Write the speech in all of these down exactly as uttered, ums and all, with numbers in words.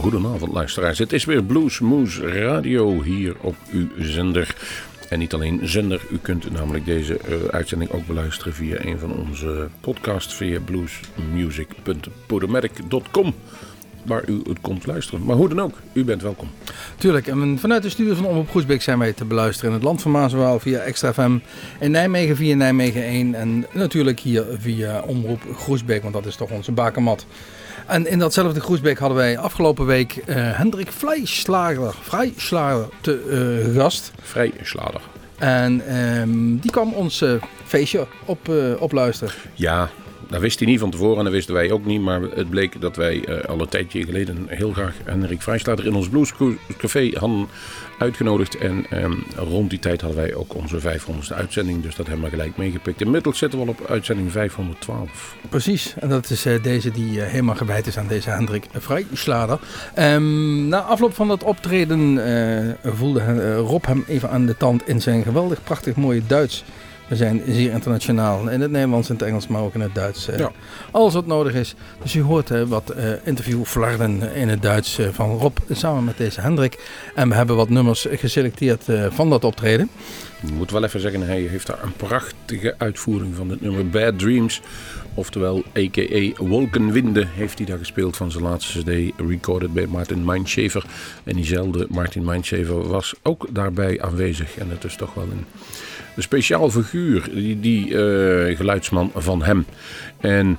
goedenavond luisteraars. Het is weer Bluesmoose Radio hier op uw zender. En niet alleen zender, u kunt namelijk deze uh, uitzending ook beluisteren via een van onze podcasts via bluesmusic punt podomatic punt com. Waar u het komt luisteren. Maar hoe dan ook, u bent welkom. Tuurlijk, en vanuit de studio van Omroep Groesbeek zijn wij te beluisteren in het land van Maas en Waal via Extra F M. In Nijmegen via Nijmegen één en natuurlijk hier via Omroep Groesbeek, want dat is toch onze bakermat. En in datzelfde Groesbeek hadden wij afgelopen week uh, Hendrik Vrijslager, Vrijslager te uh, gast. Vrijslager. En um, die kwam ons uh, feestje op, uh, opluisteren. Ja, dat wist hij niet van tevoren en dat wisten wij ook niet. Maar het bleek dat wij uh, al een tijdje geleden heel graag Hendrik Vrijslager in ons Bluescafé hadden uitgenodigd. En um, rond die tijd hadden wij ook onze vijfhonderdste uitzending. Dus dat hebben we gelijk meegepikt. Inmiddels zitten we al op uitzending vijfhonderdtwaalf. Precies, en dat is uh, deze die uh, helemaal gewijd is aan deze Hendrik Vrijslager. Um, na afloop van dat optreden uh, voelde uh, Rob hem even aan de tand in zijn geweldig prachtig mooie Duits. We zijn zeer internationaal, in het Nederlands, in het Engels, maar ook in het Duits. Uh, ja. Alles wat nodig is. Dus u hoort uh, wat uh, interviewflarden in het Duits uh, van Rob samen met deze Hendrik. En we hebben wat nummers geselecteerd uh, van dat optreden. Ik moet wel even zeggen, hij heeft daar een prachtige uitvoering van het nummer Bad Dreams. Oftewel, a k a. Wolkenwinde, heeft hij daar gespeeld van zijn laatste cd, recorded bij Martin Meinschaefer. En diezelfde Martin Meinschaefer was ook daarbij aanwezig. En het is toch wel een, een speciaal figuur, die, die uh, geluidsman van hem. En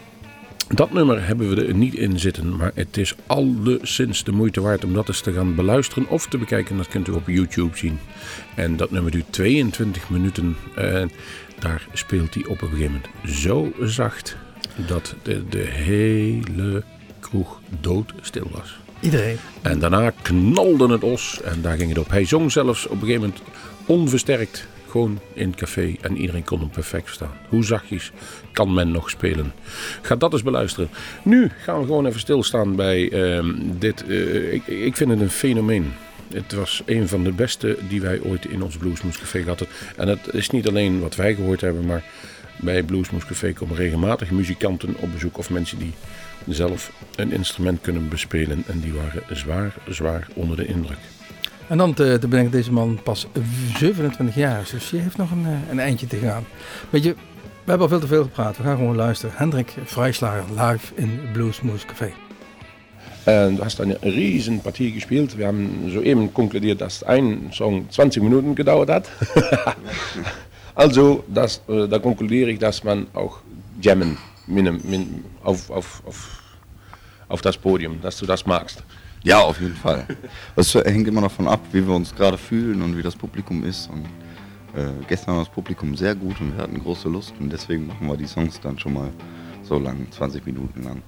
dat nummer hebben we er niet in zitten, maar het is alleszins de moeite waard om dat eens te gaan beluisteren of te bekijken. Dat kunt u op YouTube zien. En dat nummer duurt tweeëntwintig minuten en daar speelt hij op een gegeven moment zo zacht dat de, de hele kroeg doodstil was. Iedereen. En daarna knalde het os en daar ging het op. Hij zong zelfs op een gegeven moment onversterkt. Gewoon in het café en iedereen kon hem perfect verstaan. Hoe zachtjes kan men nog spelen? Ga dat eens beluisteren. Nu gaan we gewoon even stilstaan bij uh, dit. Uh, ik, ik vind het een fenomeen. Het was een van de beste die wij ooit in ons Bluesmoose Café hadden. En het is niet alleen wat wij gehoord hebben, maar bij Bluesmoose Café komen regelmatig muzikanten op bezoek. Of mensen die zelf een instrument kunnen bespelen. En die waren zwaar, zwaar onder de indruk. En dan te, te ben ik deze man pas zevenentwintig jaar, dus je heeft nog een, een eindje te gaan. Weet je, we hebben al veel te veel gepraat, we gaan gewoon luisteren. Hendrik Vrijslager live in Bluesmoose Café. En du hast eine riesen Partie gespielt. Wir haben soeben konkludiert, dass ein Song zwanzig Minuten gedauert hat. Also, das, äh, da konkludiere ich, dass man auch jammen min, min, auf, auf, auf, auf das Podium, dass du das magst. Ja, auf jeden Fall. Das hängt immer davon ab, wie wir uns gerade fühlen und wie das Publikum ist. Und äh, gestern war das Publikum sehr gut und wir hatten große Lust und deswegen machen wir die Songs dann schon mal so lang, zwanzig Minuten lang.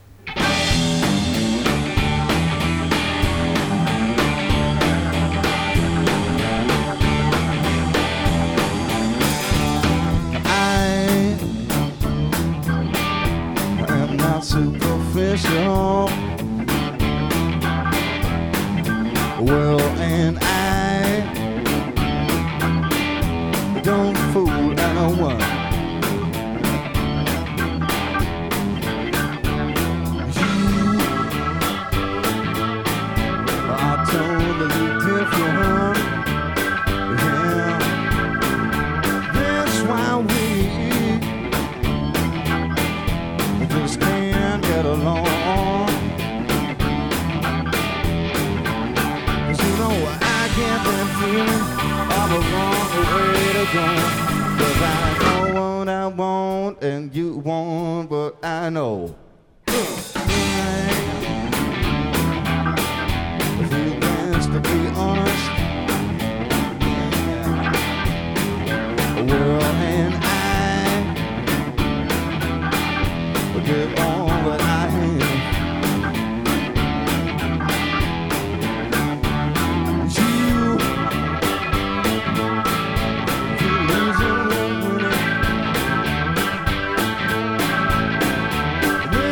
I am not superficial. Well, and I don't fool anyone. You are totally different. Yeah, that's why we just can't get along. I'm a wrong way to go. Cause I know what I want and you want what I know. If you dance to be honest, well, and I will give on what I have. Well,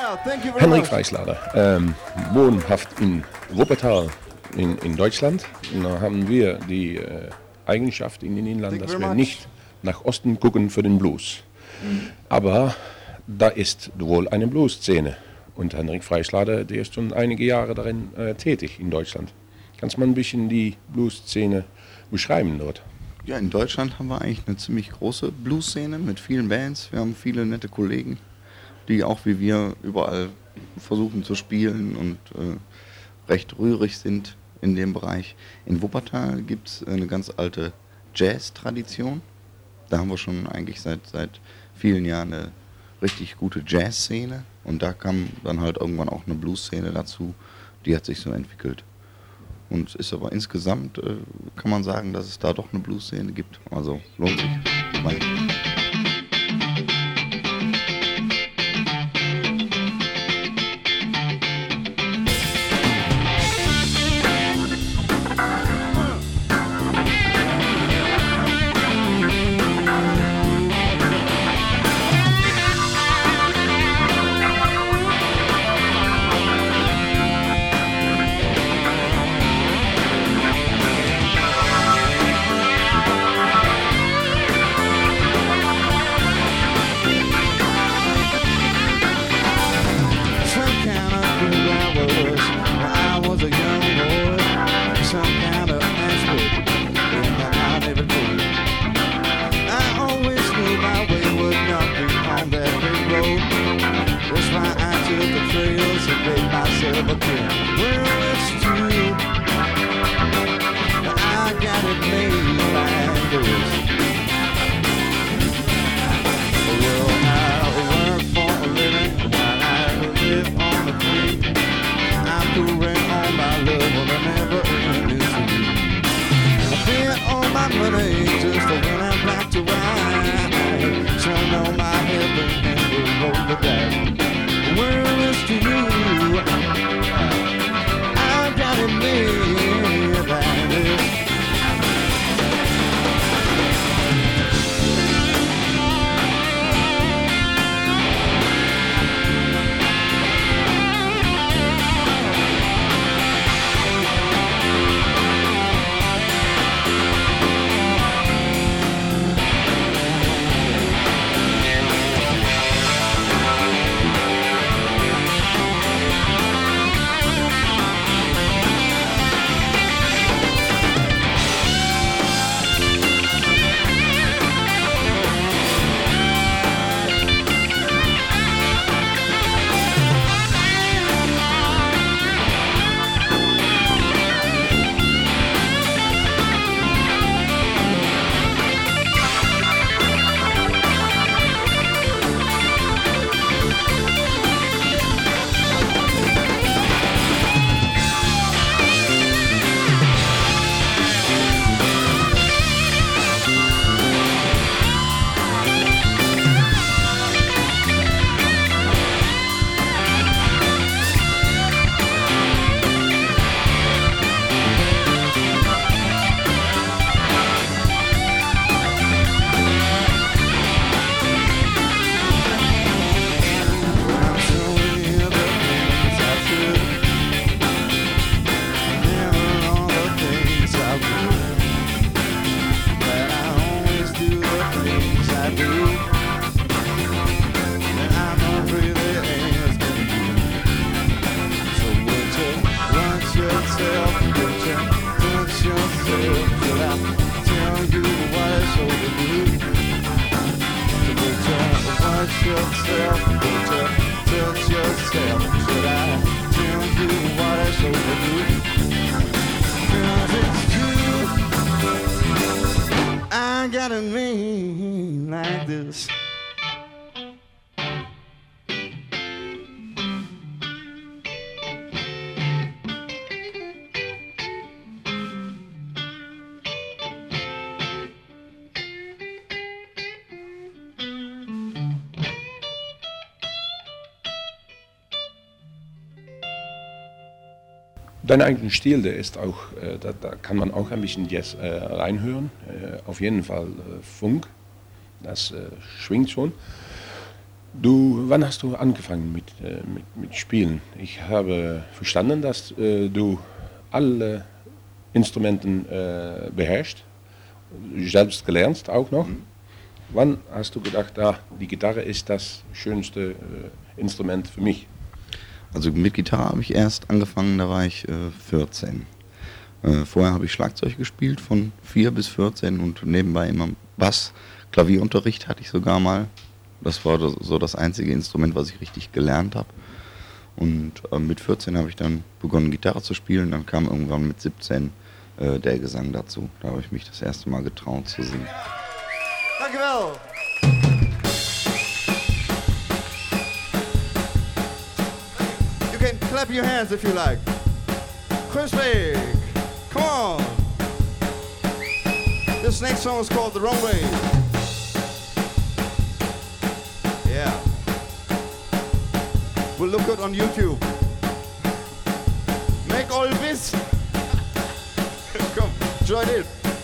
thank you very Henrik much. Freischlader, ähm, wohnhaft in Wuppertal in, in Deutschland. Und da haben wir die äh, Eigenschaft in den Inland, dass wir nicht nach Osten gucken für den Blues. Mhm. Aber da ist wohl eine Blues-Szene. Und Henrik Freischlader, der ist schon einige Jahre darin äh, tätig in Deutschland. Kannst du mal ein bisschen die Blues-Szene beschreiben dort? Ja, in Deutschland haben wir eigentlich eine ziemlich große Blues-Szene mit vielen Bands. Wir haben viele nette Kollegen, die auch wie wir überall versuchen zu spielen und äh, recht rührig sind in dem Bereich. In Wuppertal gibt es eine ganz alte Jazz-Tradition. Da haben wir schon eigentlich seit, seit vielen Jahren eine richtig gute Jazz-Szene. Und da kam dann halt irgendwann auch eine Blues-Szene dazu. Die hat sich so entwickelt. Und ist aber insgesamt, äh, kann man sagen, dass es da doch eine Blues-Szene gibt. Also lohnt sich. Weil Dein eigener Stil, der ist auch, äh, da, da kann man auch ein bisschen Jazz äh, reinhören. Äh, auf jeden Fall äh, Funk, das äh, schwingt schon. Du, wann hast du angefangen mit, äh, mit, mit Spielen? Ich habe verstanden, dass äh, du alle Instrumenten äh, beherrschst, selbst gelernt auch noch. Mhm. Wann hast du gedacht, ah, die Gitarre ist das schönste äh, Instrument für mich? Also mit Gitarre habe ich erst angefangen, da war ich äh, vierzehn. Äh, vorher habe ich Schlagzeug gespielt von vier bis vierzehn und nebenbei immer Bass. Klavierunterricht hatte ich sogar mal. Das war das, so das einzige Instrument, was ich richtig gelernt habe. Und äh, mit vierzehn habe ich dann begonnen, Gitarre zu spielen. Dann kam irgendwann mit siebzehn äh, der Gesang dazu. Da habe ich mich das erste Mal getraut zu singen. Dankjewel. You can clap your hands if you like. Crispy, come on. This next song is called The Wrong Way. Yeah. We'll look good on YouTube. Make all this. Come, join in.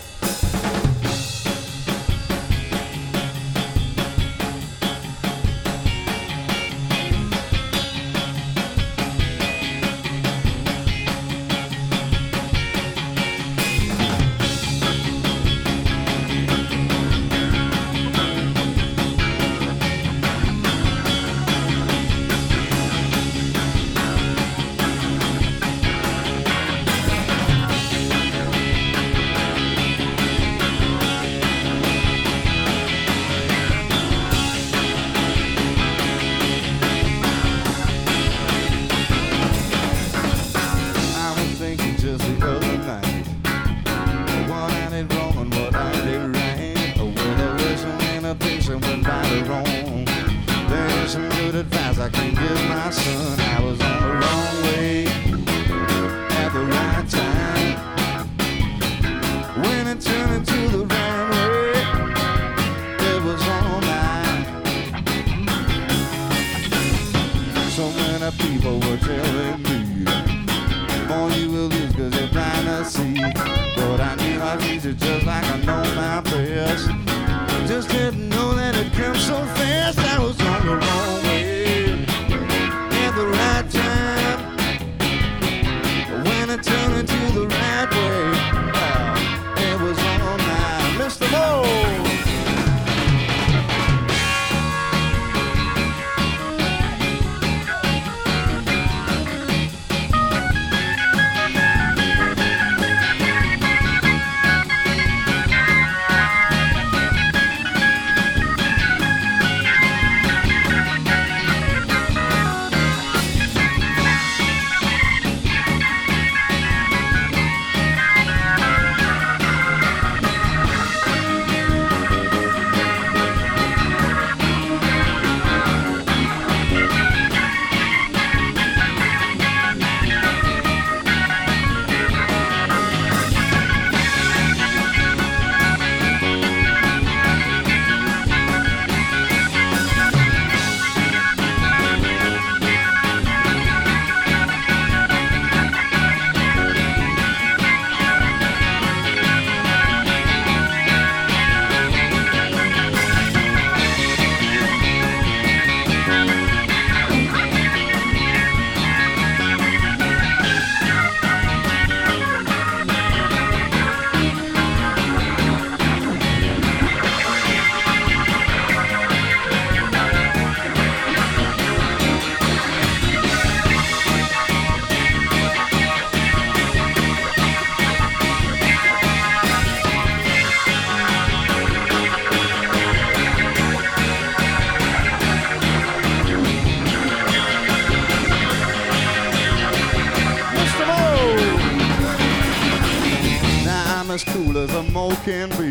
Can be,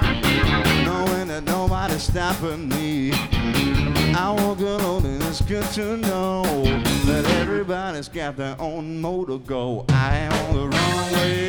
knowing that nobody's stopping me. I walk alone and it's good to know that everybody's got their own mode to go. I am on the wrong way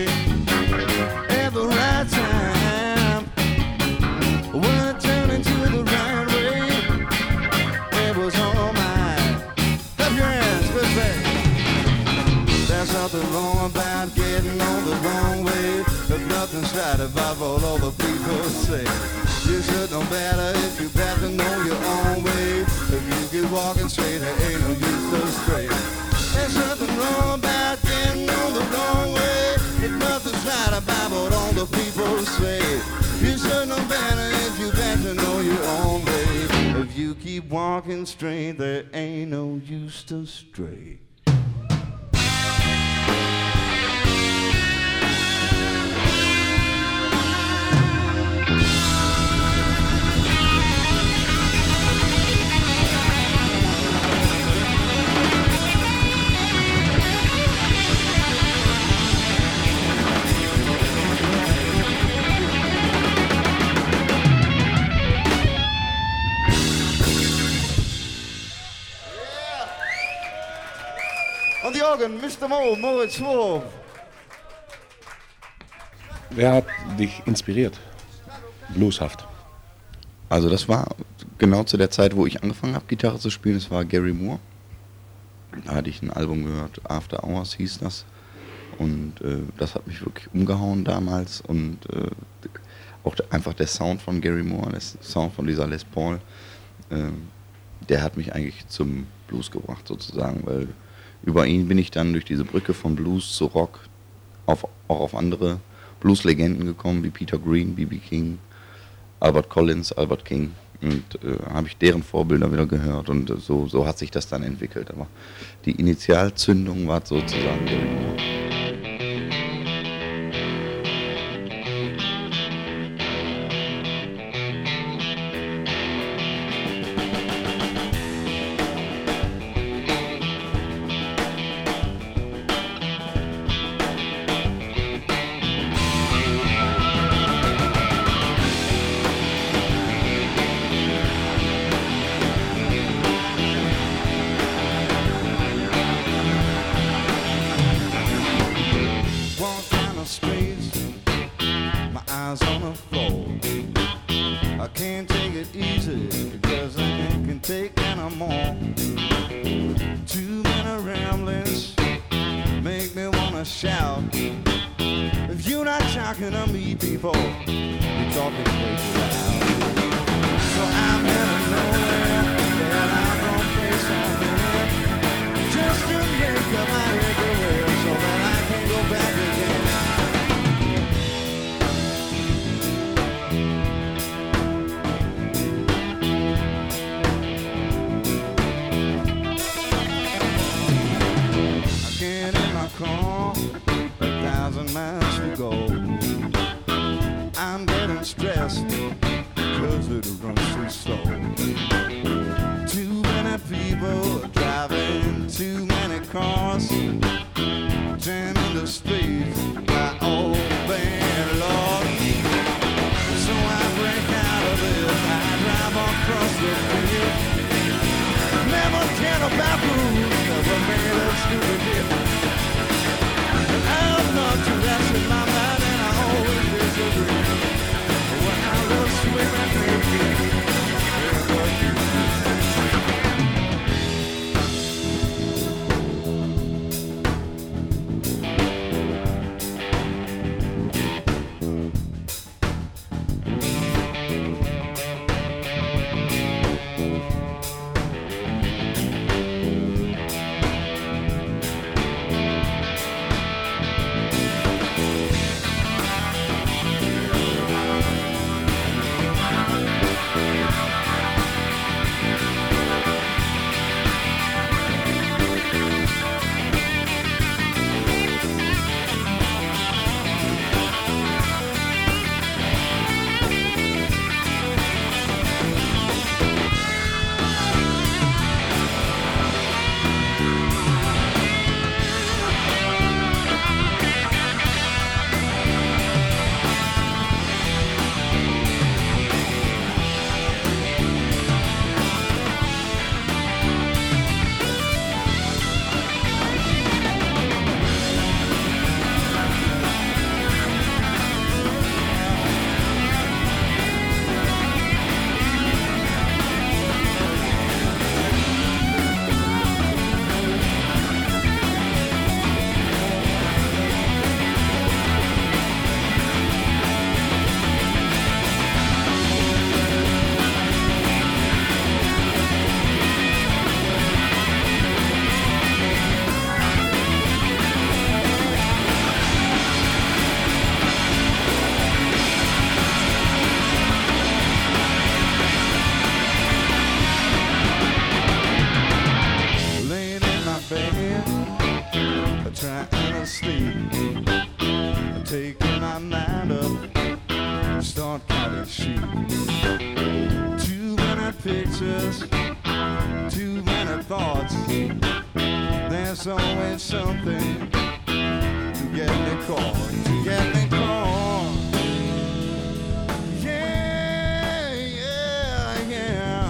at the right time. When I turn into the right way, it was all mine. Clap your hands, good thing. There's nothing wrong about getting on the wrong way. There's nothing's right about what all the people say. You should know better if you better know your own way. If you keep walking straight, there ain't no use to stray. There's nothing wrong about getting on the wrong way. If nothing's right about what all the people say, you should know better if you better know your own way. If you keep walking straight, there ain't no use to stray. On the organ, Mister Mo, Moritz Wolf. Wer hat dich inspiriert? Blueshaft. Also das war genau zu der Zeit, wo ich angefangen habe, Gitarre zu spielen. Das war Gary Moore. Da hatte ich ein Album gehört, After Hours hieß das. Und äh, das hat mich wirklich umgehauen damals. Und äh, auch der, einfach der Sound von Gary Moore, der Sound von dieser Les Paul, äh, der hat mich eigentlich zum Blues gebracht sozusagen, weil über ihn bin ich dann durch diese Brücke von Blues zu Rock auf, auch auf andere Blues-Legenden gekommen, wie Peter Green, B B King, Albert Collins, Albert King. Und äh, habe ich deren Vorbilder wieder gehört und äh, so, so hat sich das dann entwickelt. Aber die Initialzündung war sozusagen Gary Moore. bed, trying to sleep, taking my mind up, start counting sheep. Too many pictures, too many thoughts. There's always something to get me caught, to get me caught. Yeah, yeah, yeah.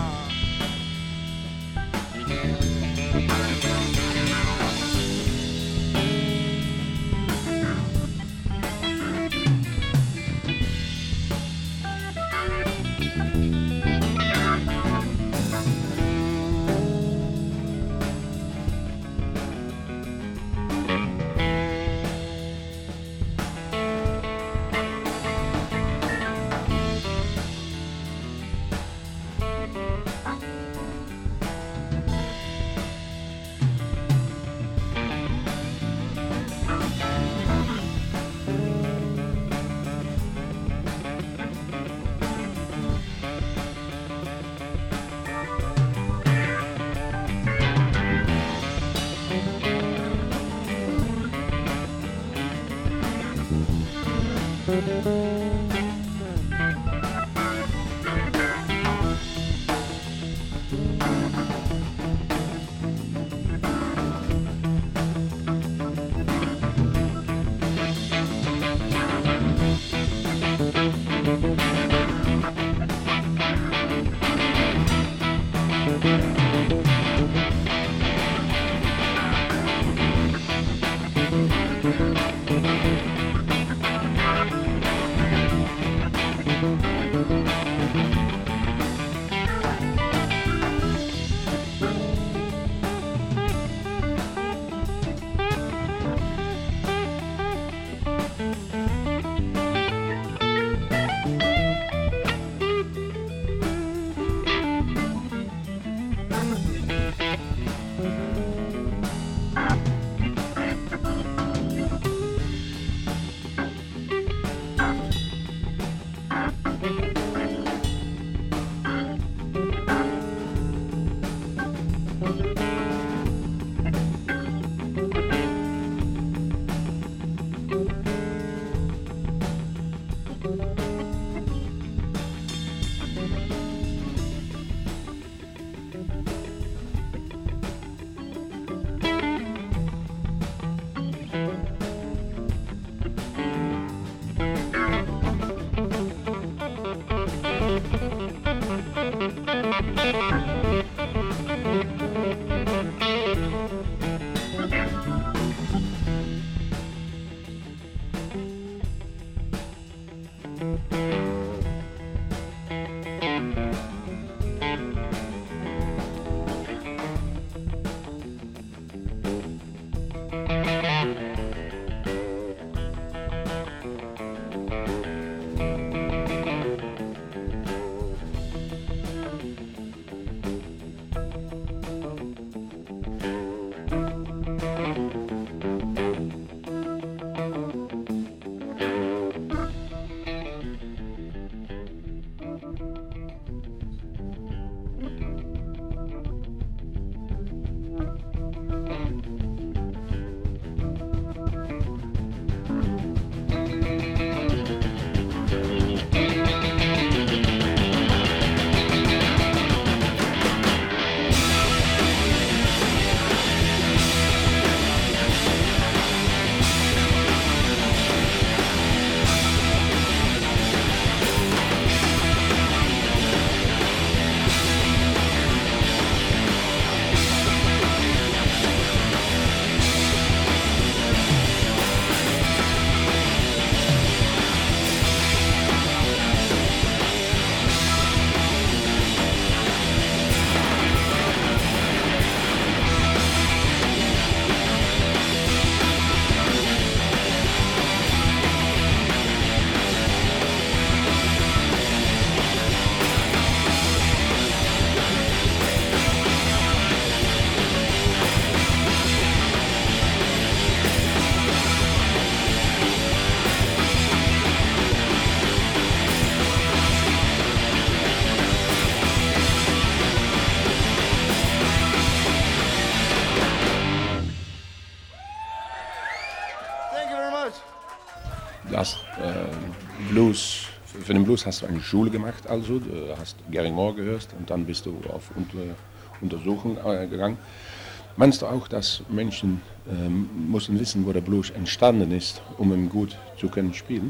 du hast äh, Blues, für den Blues hast du eine Schule gemacht, also du hast Gary Moore gehört und dann bist du auf Unter, Untersuchung äh, gegangen. Meinst du auch, dass Menschen ähm, müssen wissen, wo der Blues entstanden ist, um ihn gut zu können spielen?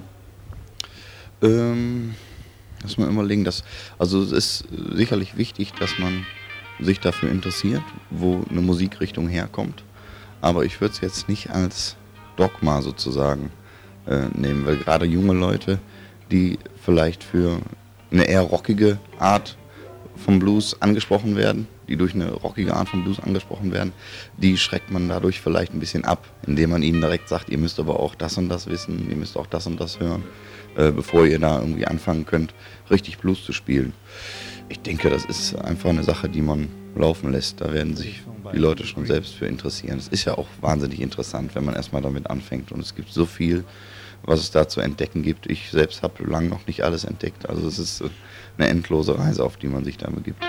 Ähm, lass mal überlegen, dass, also es ist sicherlich wichtig, dass man sich dafür interessiert, wo eine Musikrichtung herkommt, aber ich würde es jetzt nicht als Dogma sozusagen äh, nehmen, weil gerade junge Leute, die vielleicht für eine eher rockige Art vom Blues angesprochen werden, die durch eine rockige Art vom Blues angesprochen werden, die schreckt man dadurch vielleicht ein bisschen ab, indem man ihnen direkt sagt, ihr müsst aber auch das und das wissen, ihr müsst auch das und das hören, äh, bevor ihr da irgendwie anfangen könnt, richtig Blues zu spielen. Ich denke, das ist einfach eine Sache, die man laufen lässt. Da werden sich die Leute schon selbst für interessieren. Es ist ja auch wahnsinnig interessant, wenn man erstmal damit anfängt. Und es gibt so viel, was es da zu entdecken gibt. Ich selbst habe lange noch nicht alles entdeckt. Also es ist eine endlose Reise, auf die man sich da begibt.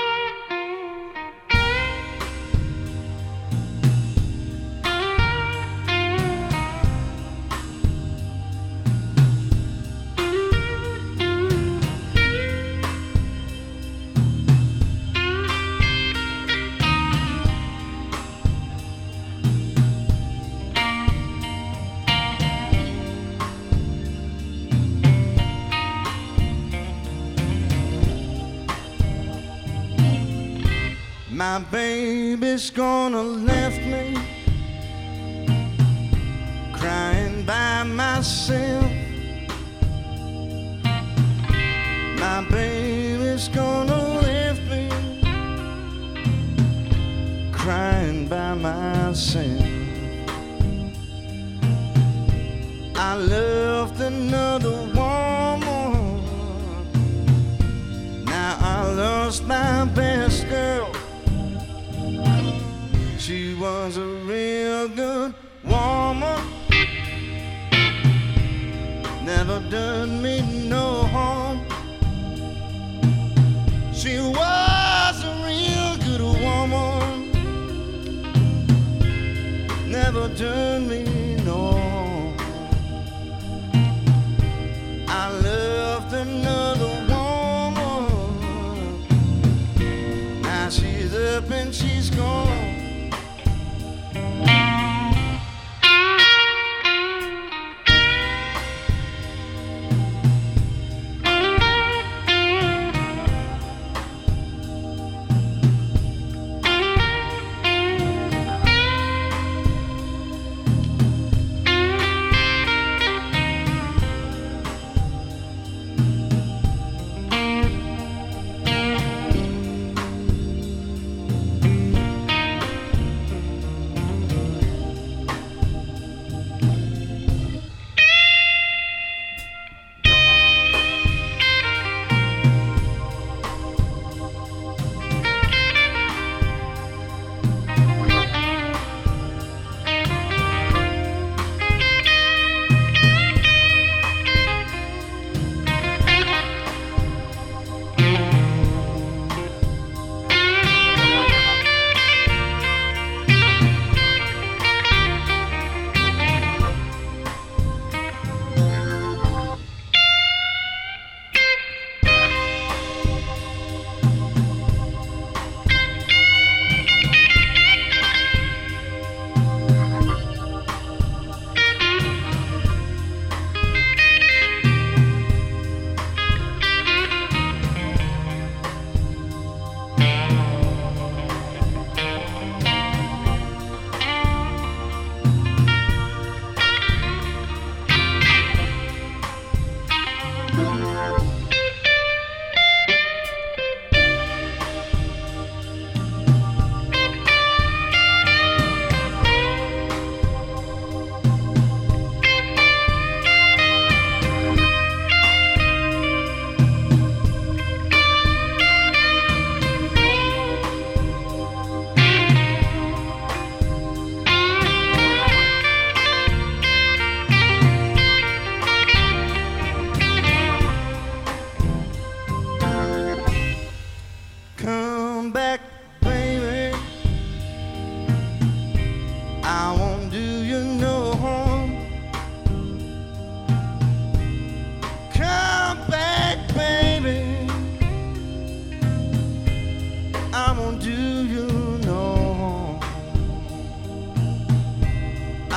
My baby's gonna left me crying by myself. My baby's gonna left me crying by myself. I loved another woman. Now I lost my best girl. She was a real good woman, never done me no harm. She was a real good woman, never done me no harm. I loved another woman, now she's up and she's gone.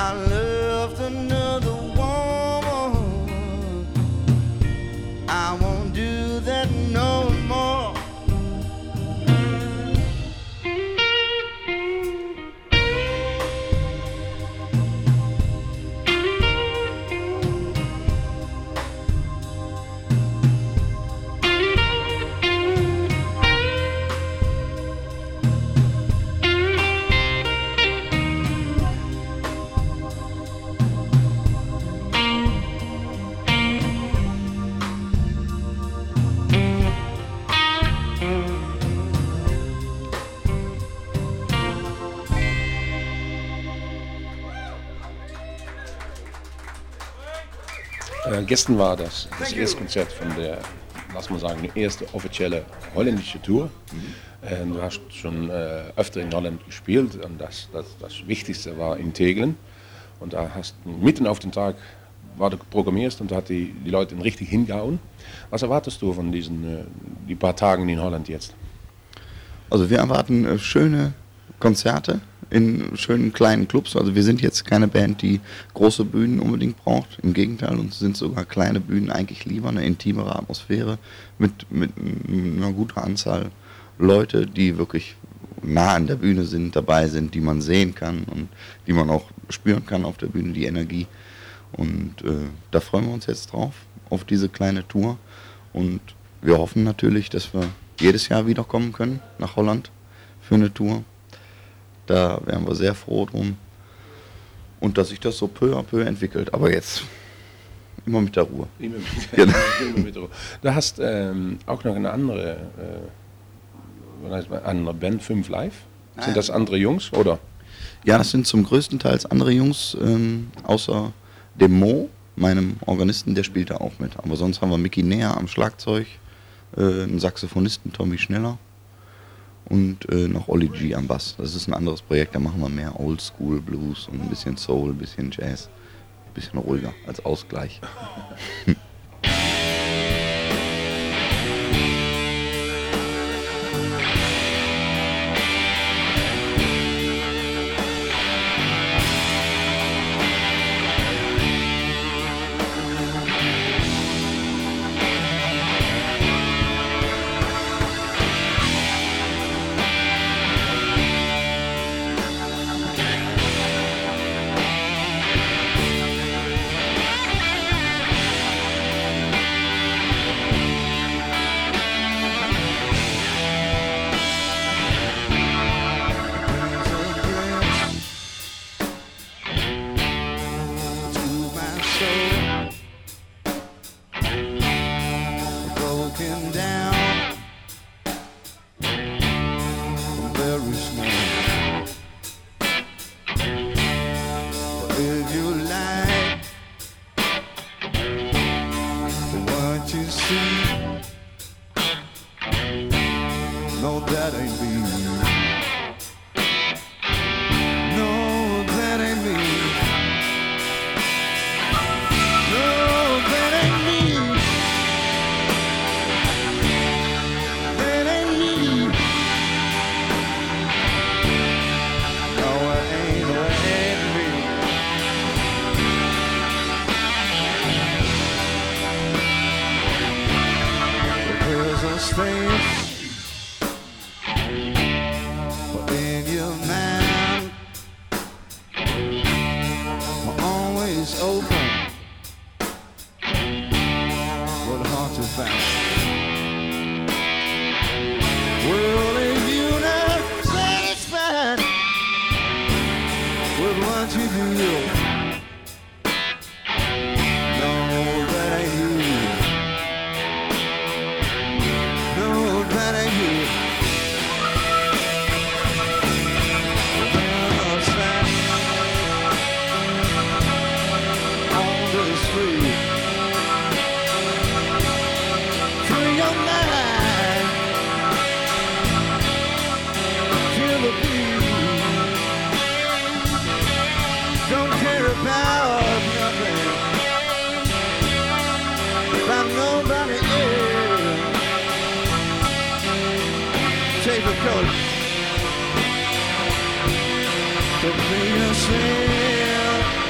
I loved another woman. I won't do that no more. Äh, gestern war das, das erste Konzert von der, lass mal sagen, die erste offizielle holländische Tour. Mhm. Äh, du hast schon äh, öfter in Holland gespielt und das, das, das Wichtigste war in Tegelen. Und da hast du mitten auf den Tag war du programmierst und da hat die, die Leute richtig hingehauen. Was erwartest du von diesen äh, die paar Tagen in Holland jetzt? Also wir erwarten äh, schöne Konzerte in schönen kleinen Clubs. Also wir sind jetzt keine Band, die große Bühnen unbedingt braucht. Im Gegenteil, uns sind sogar kleine Bühnen eigentlich lieber, eine intimere Atmosphäre mit, mit einer guten Anzahl Leute, die wirklich nah an der Bühne sind, dabei sind, die man sehen kann und die man auch spüren kann auf der Bühne, die Energie. Und äh, da freuen wir uns jetzt drauf, auf diese kleine Tour. Und wir hoffen natürlich, dass wir jedes Jahr wiederkommen können nach Holland für eine Tour. Da wären wir sehr froh drum. Und dass sich das so peu à peu entwickelt. Aber jetzt immer mit der Ruhe. Immer mit, Genau. immer mit der Ruhe. Du hast ähm, auch noch eine andere, äh, was heißt man, andere Band, fünf Live. Sind Ah, das andere Jungs, oder? Ja, das sind zum größten Teil andere Jungs, ähm, außer dem Mo, meinem Organisten, der spielt da auch mit. Aber sonst haben wir Mickey Näher am Schlagzeug, äh, einen Saxophonisten, Tommy Schneller und äh, noch Olli G am Bass. Das ist ein anderes Projekt, da machen wir mehr Oldschool Blues und ein bisschen Soul, ein bisschen Jazz, ein bisschen ruhiger als Ausgleich. To be yourself.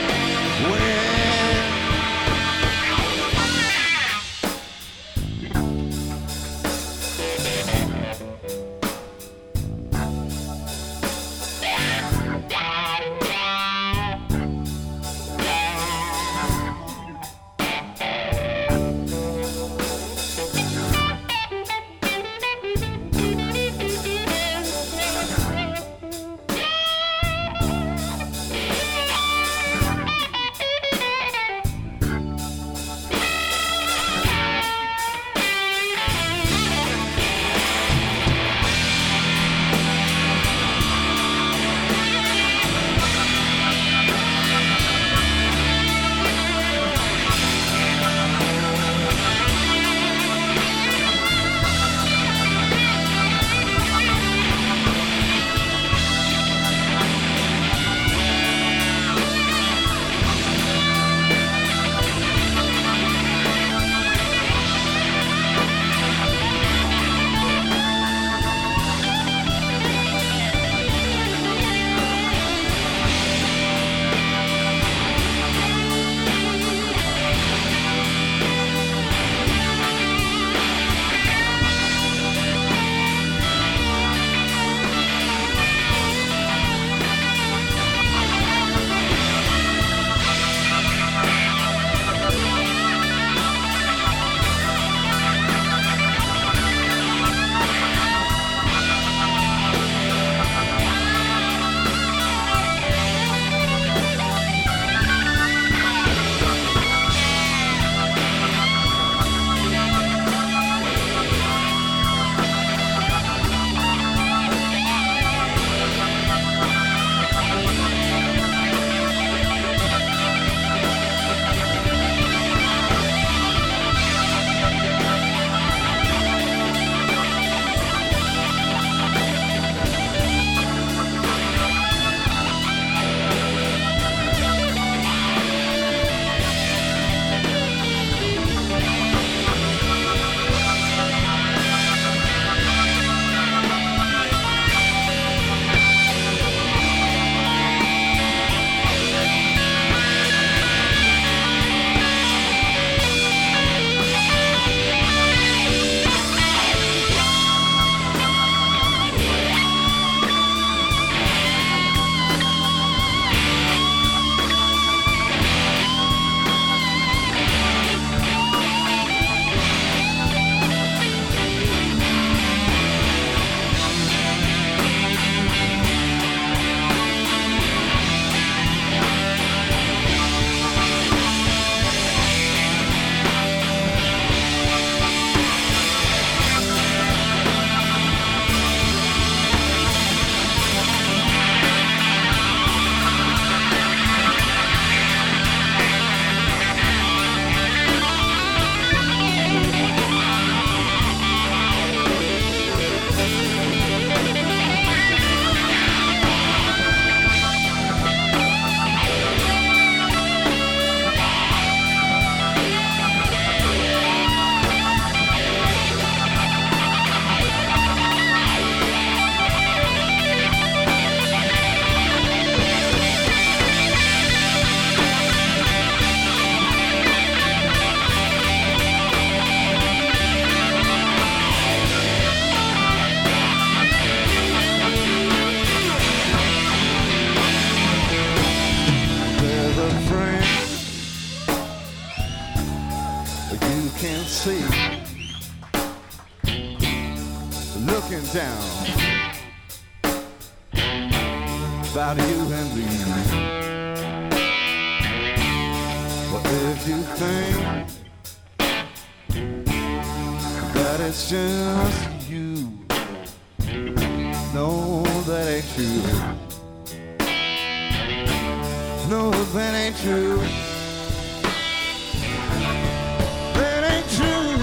see, looking down about you and me. But if you think that it's just you, no, that ain't true. No, that ain't true. That ain't true.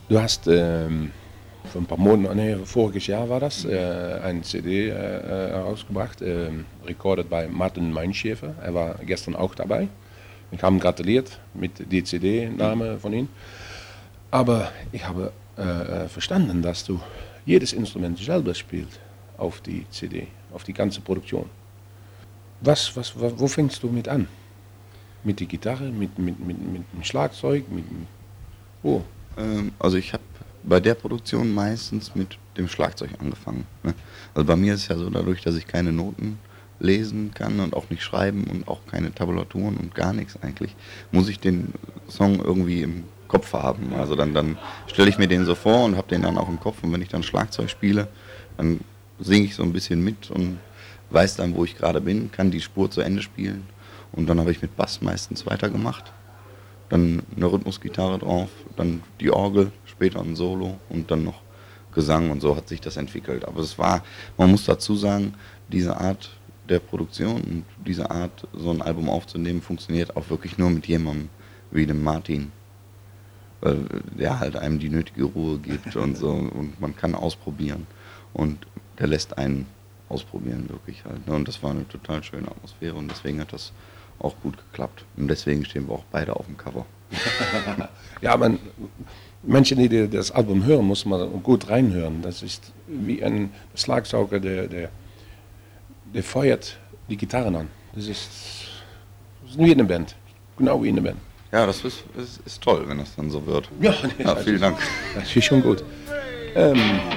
Du hast ähm, vor ein paar Monaten, nee, voriges Jahr war das, äh, eine C D äh, herausgebracht, äh, recorded bei Martin Meinschäfer. Er war gestern auch dabei. Ich habe ihm gratuliert mit der C D-Name von ihm. Aber ich habe äh, verstanden, dass du jedes Instrument selber spielst auf die C D, auf die ganze Produktion. Was, was, wo fängst du mit an? Mit der Gitarre, mit, mit, mit, mit dem Schlagzeug, mit wo? Ähm, also ich habe bei der Produktion meistens mit dem Schlagzeug angefangen. Ne? Also bei mir ist es ja so, dadurch, dass ich keine Noten lesen kann und auch nicht schreiben und auch keine Tabulaturen und gar nichts eigentlich, muss ich den Song irgendwie im Kopf haben. Also dann, dann stelle ich mir den so vor und habe den dann auch im Kopf, und wenn ich dann Schlagzeug spiele, dann singe ich so ein bisschen mit und weiß dann, wo ich gerade bin, kann die Spur zu Ende spielen, und dann habe ich mit Bass meistens weitergemacht. Dann eine Rhythmusgitarre drauf, dann die Orgel, später ein Solo und dann noch Gesang, und so hat sich das entwickelt. Aber es war, man muss dazu sagen, diese Art der Produktion und diese Art, so ein Album aufzunehmen, funktioniert auch wirklich nur mit jemandem wie dem Martin, weil der halt einem die nötige Ruhe gibt und so, und man kann ausprobieren, und der lässt einen ausprobieren wirklich halt. Und das war eine total schöne Atmosphäre, und deswegen hat das auch gut geklappt. Und deswegen stehen wir auch beide auf dem Cover. Ja, man, Menschen, die das Album hören, muss man gut reinhören. Das ist wie ein Schlagzeuger, der, der, der feuert die Gitarren an. Das ist, das ist wie in einer Band. Genau wie in einer Band. Ja, das ist, ist, ist toll, wenn das dann so wird. Ja, ja, vielen Dank. Das ist schon gut. Ähm,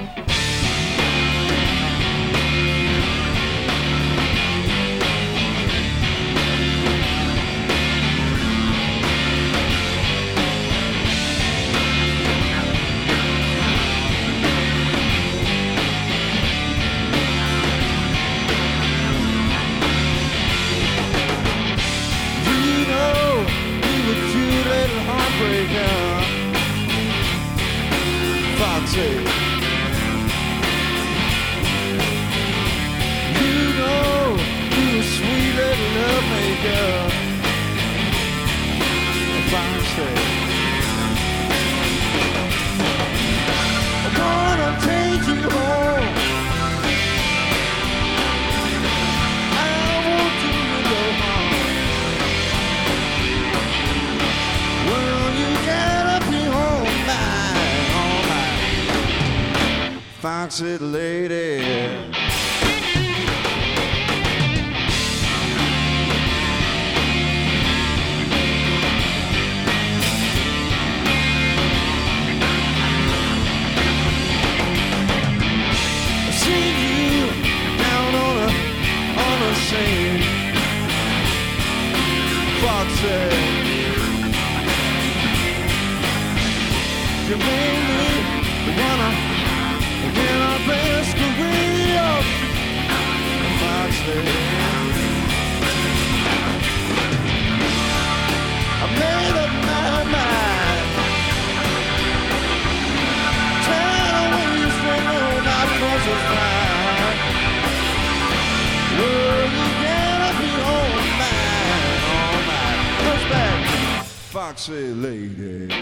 Foxy lady, I seen you down on a on a scene, Foxy, you made me wanna. In our best career, Foxy, I made up my mind. Turn away from all my troubles fine. Well, you gotta be all mine, all mine. Push back, Foxy lady.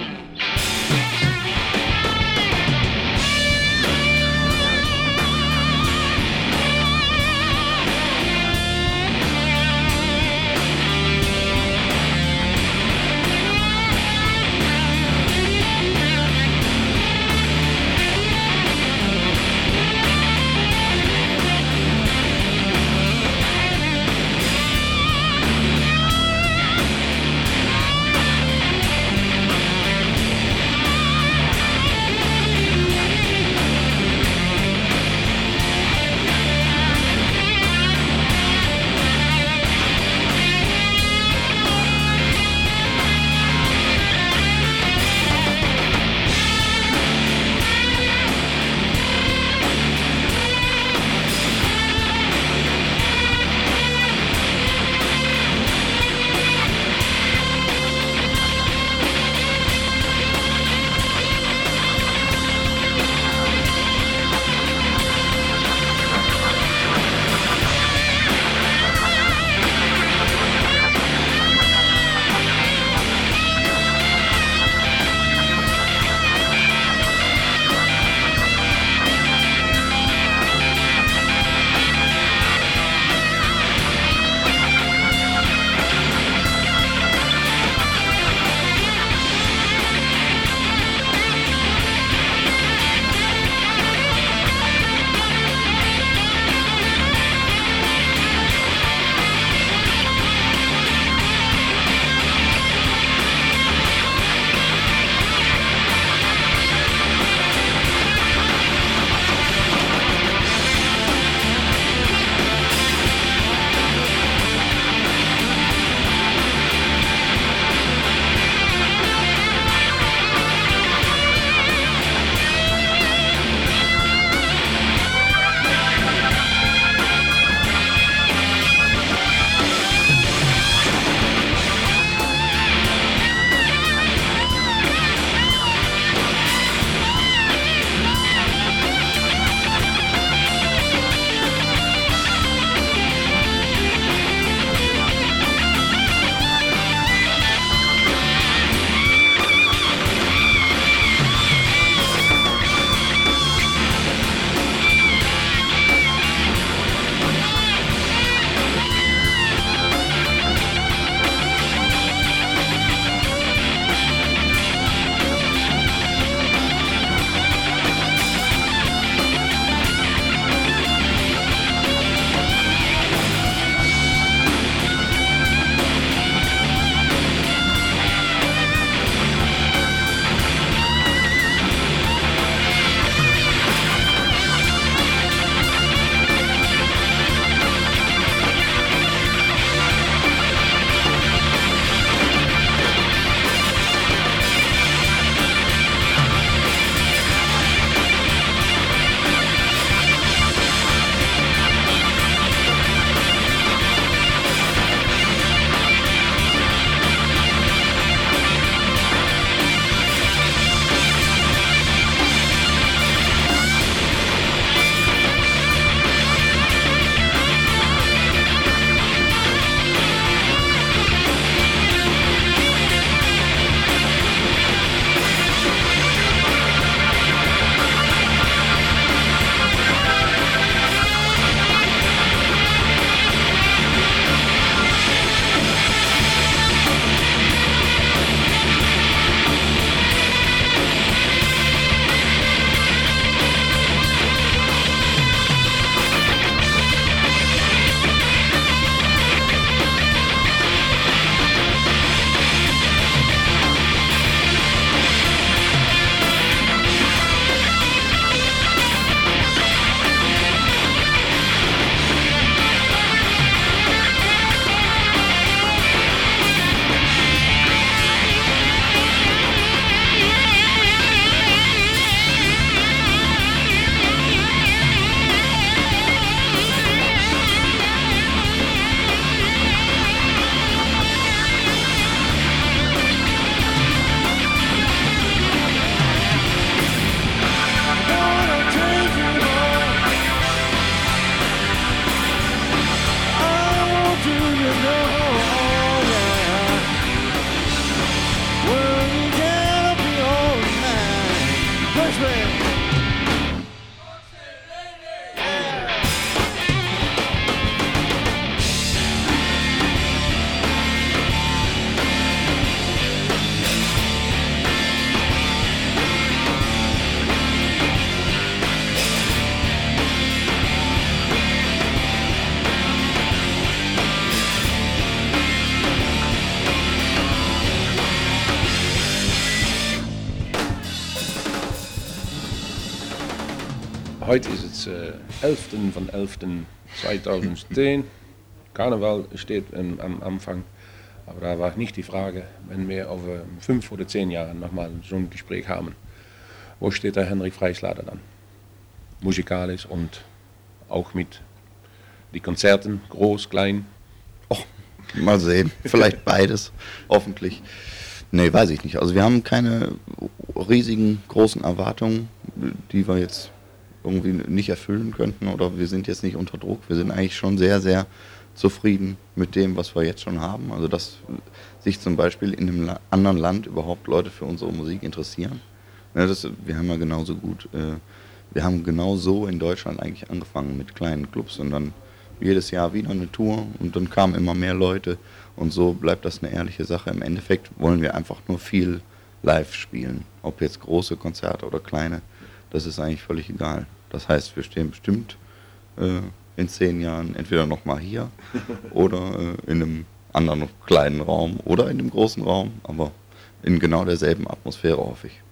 Heute ist es äh, elften van elften zweitausendzehn. Karneval steht ähm, am Anfang. Aber da war nicht die Frage, wenn wir over fünf oder zehn Jahren nochmal so ein Gespräch haben, wo steht der Hendrik Freischlader dann? Musikalisch und auch mit die Konzerten, groß, klein. Oh, mal sehen, vielleicht beides, hoffentlich. Nee, weiß ich nicht. Also wir haben keine riesigen, großen Erwartungen, die wir jetzt irgendwie nicht erfüllen könnten oder wir sind jetzt nicht unter Druck. Wir sind eigentlich schon sehr, sehr zufrieden mit dem, was wir jetzt schon haben. Also dass sich zum Beispiel in einem La- anderen Land überhaupt Leute für unsere Musik interessieren. Ja, das, wir haben ja genauso gut, äh, wir haben genau so in Deutschland eigentlich angefangen mit kleinen Clubs und dann jedes Jahr wieder eine Tour und dann kamen immer mehr Leute und so bleibt das eine ehrliche Sache. Im Endeffekt wollen wir einfach nur viel live spielen, ob jetzt große Konzerte oder kleine, das ist eigentlich völlig egal. Das heißt, wir stehen bestimmt äh, in zehn Jahren entweder nochmal hier oder äh, in einem anderen kleinen Raum oder in dem großen Raum, aber in genau derselben Atmosphäre, hoffe ich.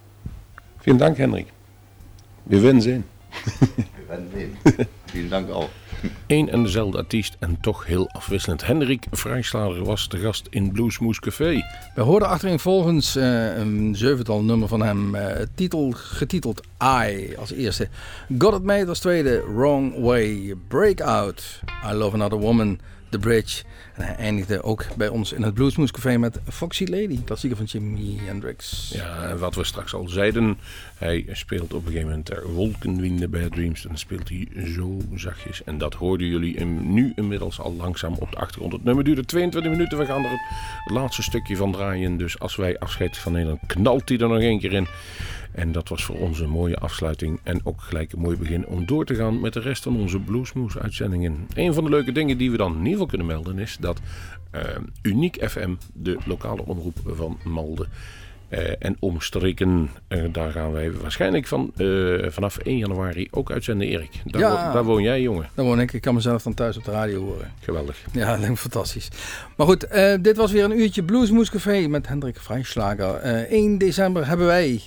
Vielen Dank, Hendrik. Wir werden sehen. Wir werden sehen. Vielen Dank auch. Eén en dezelfde artiest en toch heel afwisselend. Hendrik Freischlader was de gast in Bluesmoose Café. We hoorden achtereenvolgens uh, een zevental nummer van hem, uh, titel, getiteld I als eerste. Got It Made als tweede, Wrong Way, Breakout, I Love Another Woman, The Bridge. En hij eindigde ook bij ons in het Bluesmoose Café met Foxy Lady, klassieker van Jimi Hendrix. Ja, en wat we straks al zeiden, hij speelt op een gegeven moment ter Wolkenwinde bij Bad Dreams. En dan speelt hij zo zachtjes. En dat hoorden jullie in, nu inmiddels al langzaam op de achtergrond. Het nummer duurde tweeëntwintig minuten. We gaan er het laatste stukje van draaien. Dus als wij afscheid van Nederland, knalt hij er nog één keer in. En dat was voor ons een mooie afsluiting en ook gelijk een mooi begin om door te gaan met de rest van onze Bluesmoose uitzendingen. Een van de leuke dingen die we dan in ieder geval kunnen melden is dat uh, Uniek F M, de lokale omroep van Malden uh, en omstreken, uh, daar gaan wij waarschijnlijk van, uh, vanaf één januari ook uitzenden, Erik. Daar, Ja. wo- daar woon jij, jongen. Daar woon ik, ik kan mezelf dan thuis op de radio horen. Geweldig. Ja, dat lijkt me fantastisch. Maar goed, uh, dit was weer een uurtje Bluesmoose Café met Hendrik Freischlager. Uh, één december hebben wij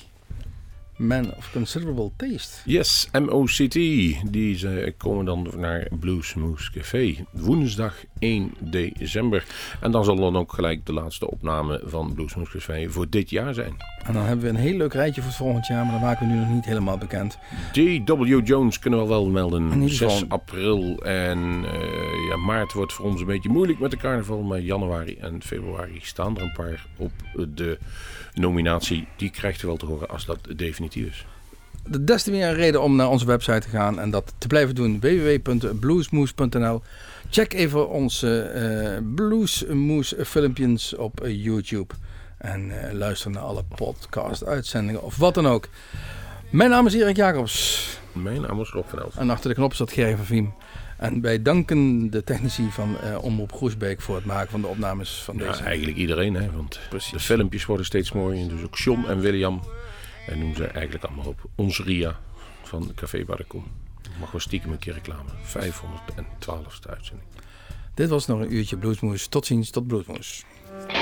Man of Considerable Taste. Yes, M O C T. Die ze komen dan naar Bluesmoose Café. Woensdag één december. En dan zal dan ook gelijk de laatste opname van Bluesmoose Café voor dit jaar zijn. En dan hebben we een heel leuk rijtje voor het volgend jaar, maar dat maken we nu nog niet helemaal bekend. J W Jones kunnen we wel melden. In ieder geval. zes april en uh, ja, maart wordt voor ons een beetje moeilijk met de carnaval. Maar januari en februari staan er een paar op de nominatie. Die krijgt u wel te horen als dat definitief is. Des te meer een reden om naar onze website te gaan en dat te blijven doen. w w w punt bluesmoose punt n l. Check even onze uh, Bluesmoose filmpjes op uh, YouTube. En uh, luister naar alle podcast uitzendingen of wat dan ook. Mijn naam is Erik Jacobs. Mijn naam is Rob van Elst. En achter de knop zat Gerry van Viem. En wij danken de technici van uh, Omroep Groesbeek voor het maken van de opnames van Ja, deze. eigenlijk iedereen, hè, want Precies. de filmpjes worden steeds mooier. Dus ook John en William. En noem ze eigenlijk allemaal op. Ons Ria van Café Barrekom. Mag wel stiekem een keer reclame. vijfhonderdtwaalfste uitzending. Dit was nog een uurtje Bluesmoose. Tot ziens, tot Bluesmoose.